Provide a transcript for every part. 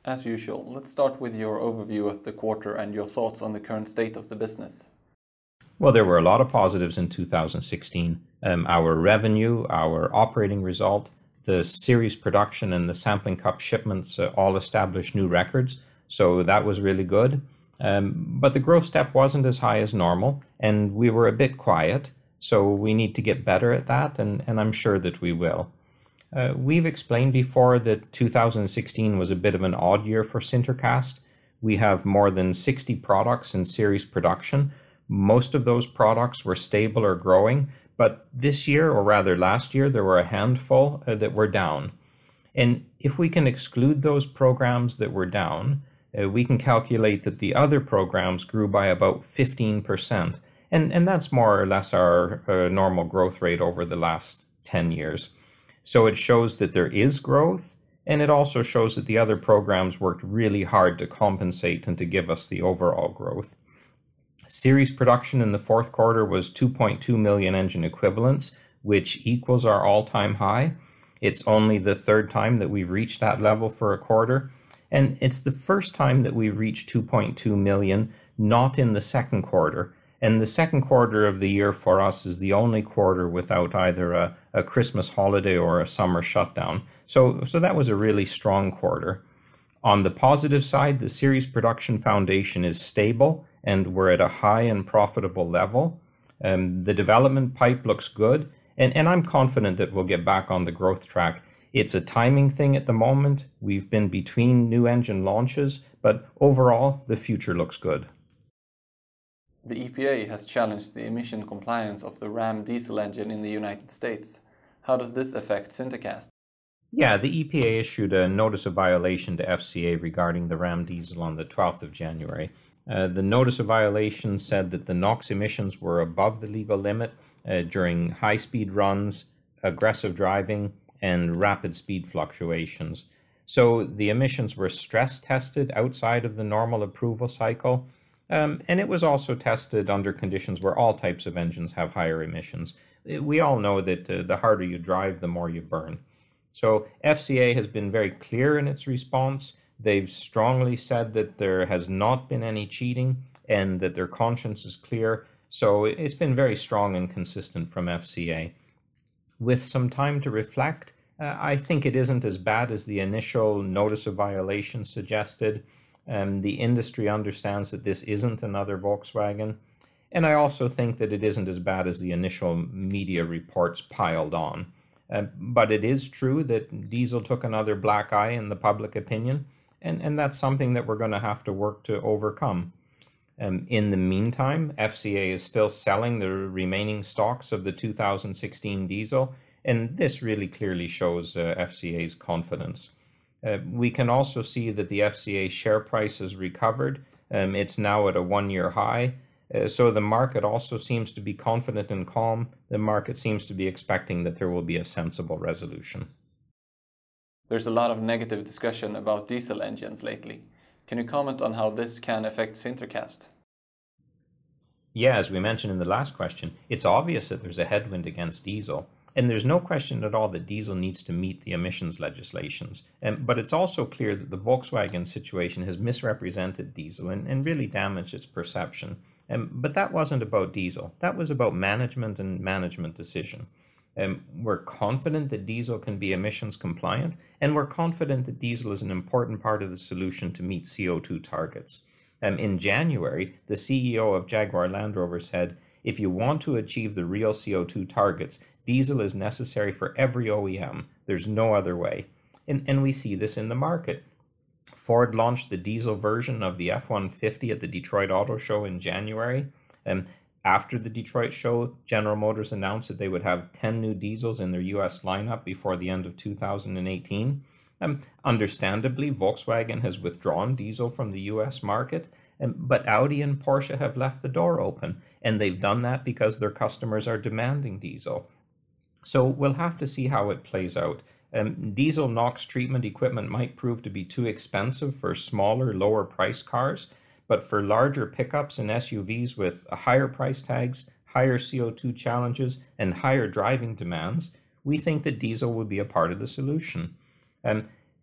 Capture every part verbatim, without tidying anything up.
As usual, let's start with your overview of the quarter and your thoughts on the current state of the business. Well, there were a lot of positives in two thousand sixteen. Um, our revenue, our operating result, the series production and the sampling cup shipments uh, all established new records. So that was really good. Um, but the growth step wasn't as high as normal, and we were a bit quiet. So we need to get better at that, and, and I'm sure that we will. Uh, we've explained before that two thousand sixteen was a bit of an odd year for Sintercast. We have more than sixty products in series production. Most of those products were stable or growing, but this year, or rather last year, there were a handful uh, that were down. And if we can exclude those programs that were down, uh, we can calculate that the other programs grew by about fifteen percent. And, and that's more or less our uh, normal growth rate over the last ten years. So it shows that there is growth, and it also shows that the other programs worked really hard to compensate and to give us the overall growth. Series production in the fourth quarter was two point two million engine equivalents, which equals our all-time high. It's only the third time that we've reached that level for a quarter, and it's the first time that we've reached two point two million, not in the second quarter. And the second quarter of the year for us is the only quarter without either a, a Christmas holiday or a summer shutdown. So, so that was a really strong quarter. On the positive side, the series production foundation is stable, and we're at a high and profitable level. Um, the development pipe looks good, and, and I'm confident that we'll get back on the growth track. It's a timing thing at the moment. We've been between new engine launches, but overall, the future looks good. The E P A has challenged the emission compliance of the Ram diesel engine in the United States. How does this affect Sintercast? Yeah, the E P A issued a notice of violation to F C A regarding the Ram diesel on the twelfth of January. Uh, the notice of violation said that the NOx emissions were above the legal limit uh, during high-speed runs, aggressive driving, and rapid speed fluctuations. So the emissions were stress tested outside of the normal approval cycle. Um, and it was also tested under conditions where all types of engines have higher emissions. We all know that uh, the harder you drive, the more you burn. So F C A has been very clear in its response. They've strongly said that there has not been any cheating and that their conscience is clear. So it's been very strong and consistent from F C A. With some time to reflect, uh, I think it isn't as bad as the initial notice of violation suggested. Um, the industry understands that this isn't another Volkswagen. And I also think that it isn't as bad as the initial media reports piled on. Uh, but it is true that diesel took another black eye in the public opinion, and, and that's something that we're going to have to work to overcome. Um, in the meantime, F C A is still selling the remaining stocks of the two thousand sixteen diesel, and this really clearly shows uh, F C A's confidence. Uh, we can also see that the F C A share price has recovered. Um, it's now at a one-year high. Uh, so the market also seems to be confident and calm. The market seems to be expecting that there will be a sensible resolution. There's a lot of negative discussion about diesel engines lately. Can you comment on how this can affect Sintercast? Yeah, as we mentioned in the last question, it's obvious that there's a headwind against diesel. And there's no question at all that diesel needs to meet the emissions legislations. Um, but it's also clear that the Volkswagen situation has misrepresented diesel and, and really damaged its perception. Um, but that wasn't about diesel. That was about management and management decision. Um, we're confident that diesel can be emissions compliant, and we're confident that diesel is an important part of the solution to meet C O two targets. Um, in January, the C E O of Jaguar Land Rover said, if you want to achieve the real C O two targets, diesel is necessary for every O E M. There's no other way. And, and we see this in the market. Ford launched the diesel version of the F one fifty at the Detroit Auto Show in January. And after the Detroit show, General Motors announced that they would have ten new diesels in their U S lineup before the end of two thousand eighteen. Um, understandably, Volkswagen has withdrawn diesel from the U S market, um, but Audi and Porsche have left the door open, and they've done that because their customers are demanding diesel. So we'll have to see how it plays out. Um, diesel NOx treatment equipment might prove to be too expensive for smaller, lower price cars, but for larger pickups and S U Vs with higher price tags, higher C O two challenges, and higher driving demands, we think that diesel will be a part of the solution. Um,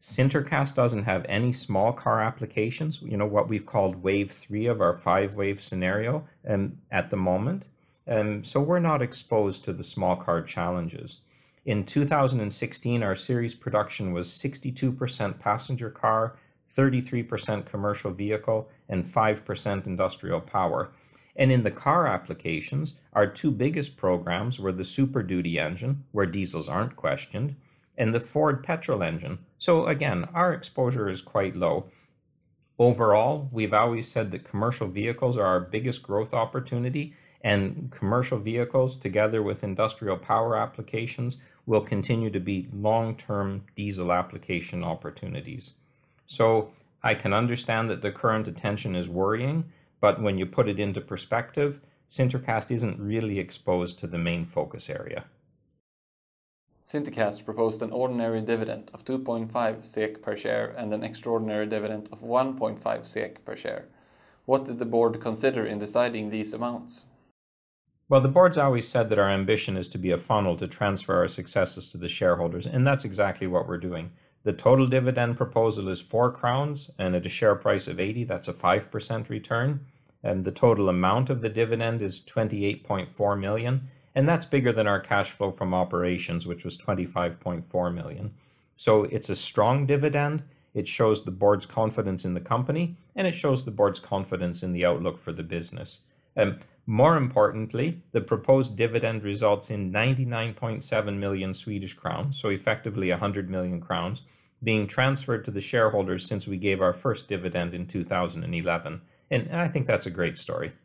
Sintercast doesn't have any small car applications, you know, what we've called wave three of our five wave scenario um, at the moment. Um, so we're not exposed to the small car challenges. In two thousand sixteen, our series production was sixty-two percent passenger car, thirty-three percent commercial vehicle, and five percent industrial power. And in the car applications, our two biggest programs were the Super Duty engine, where diesels aren't questioned, and the Ford petrol engine. So again, our exposure is quite low. Overall, we've always said that commercial vehicles are our biggest growth opportunity, and commercial vehicles together with industrial power applications will continue to be long-term diesel application opportunities. So I can understand that the current attention is worrying, but when you put it into perspective, Sintercast isn't really exposed to the main focus area. Sintercast proposed an ordinary dividend of two point five SEK per share and an extraordinary dividend of one point five SEK per share. What did the board consider in deciding these amounts? Well, the board's always said that our ambition is to be a funnel to transfer our successes to the shareholders, and that's exactly what we're doing. The total dividend proposal is four crowns, and at a share price of eighty, that's a five percent return. And the total amount of the dividend is twenty-eight point four million, and that's bigger than our cash flow from operations, which was twenty-five point four million. So it's a strong dividend. It shows the board's confidence in the company, and it shows the board's confidence in the outlook for the business. Um, more importantly, the proposed dividend results in ninety-nine point seven million Swedish crowns, so effectively one hundred million crowns, being transferred to the shareholders since we gave our first dividend in two thousand eleven. And I think that's a great story.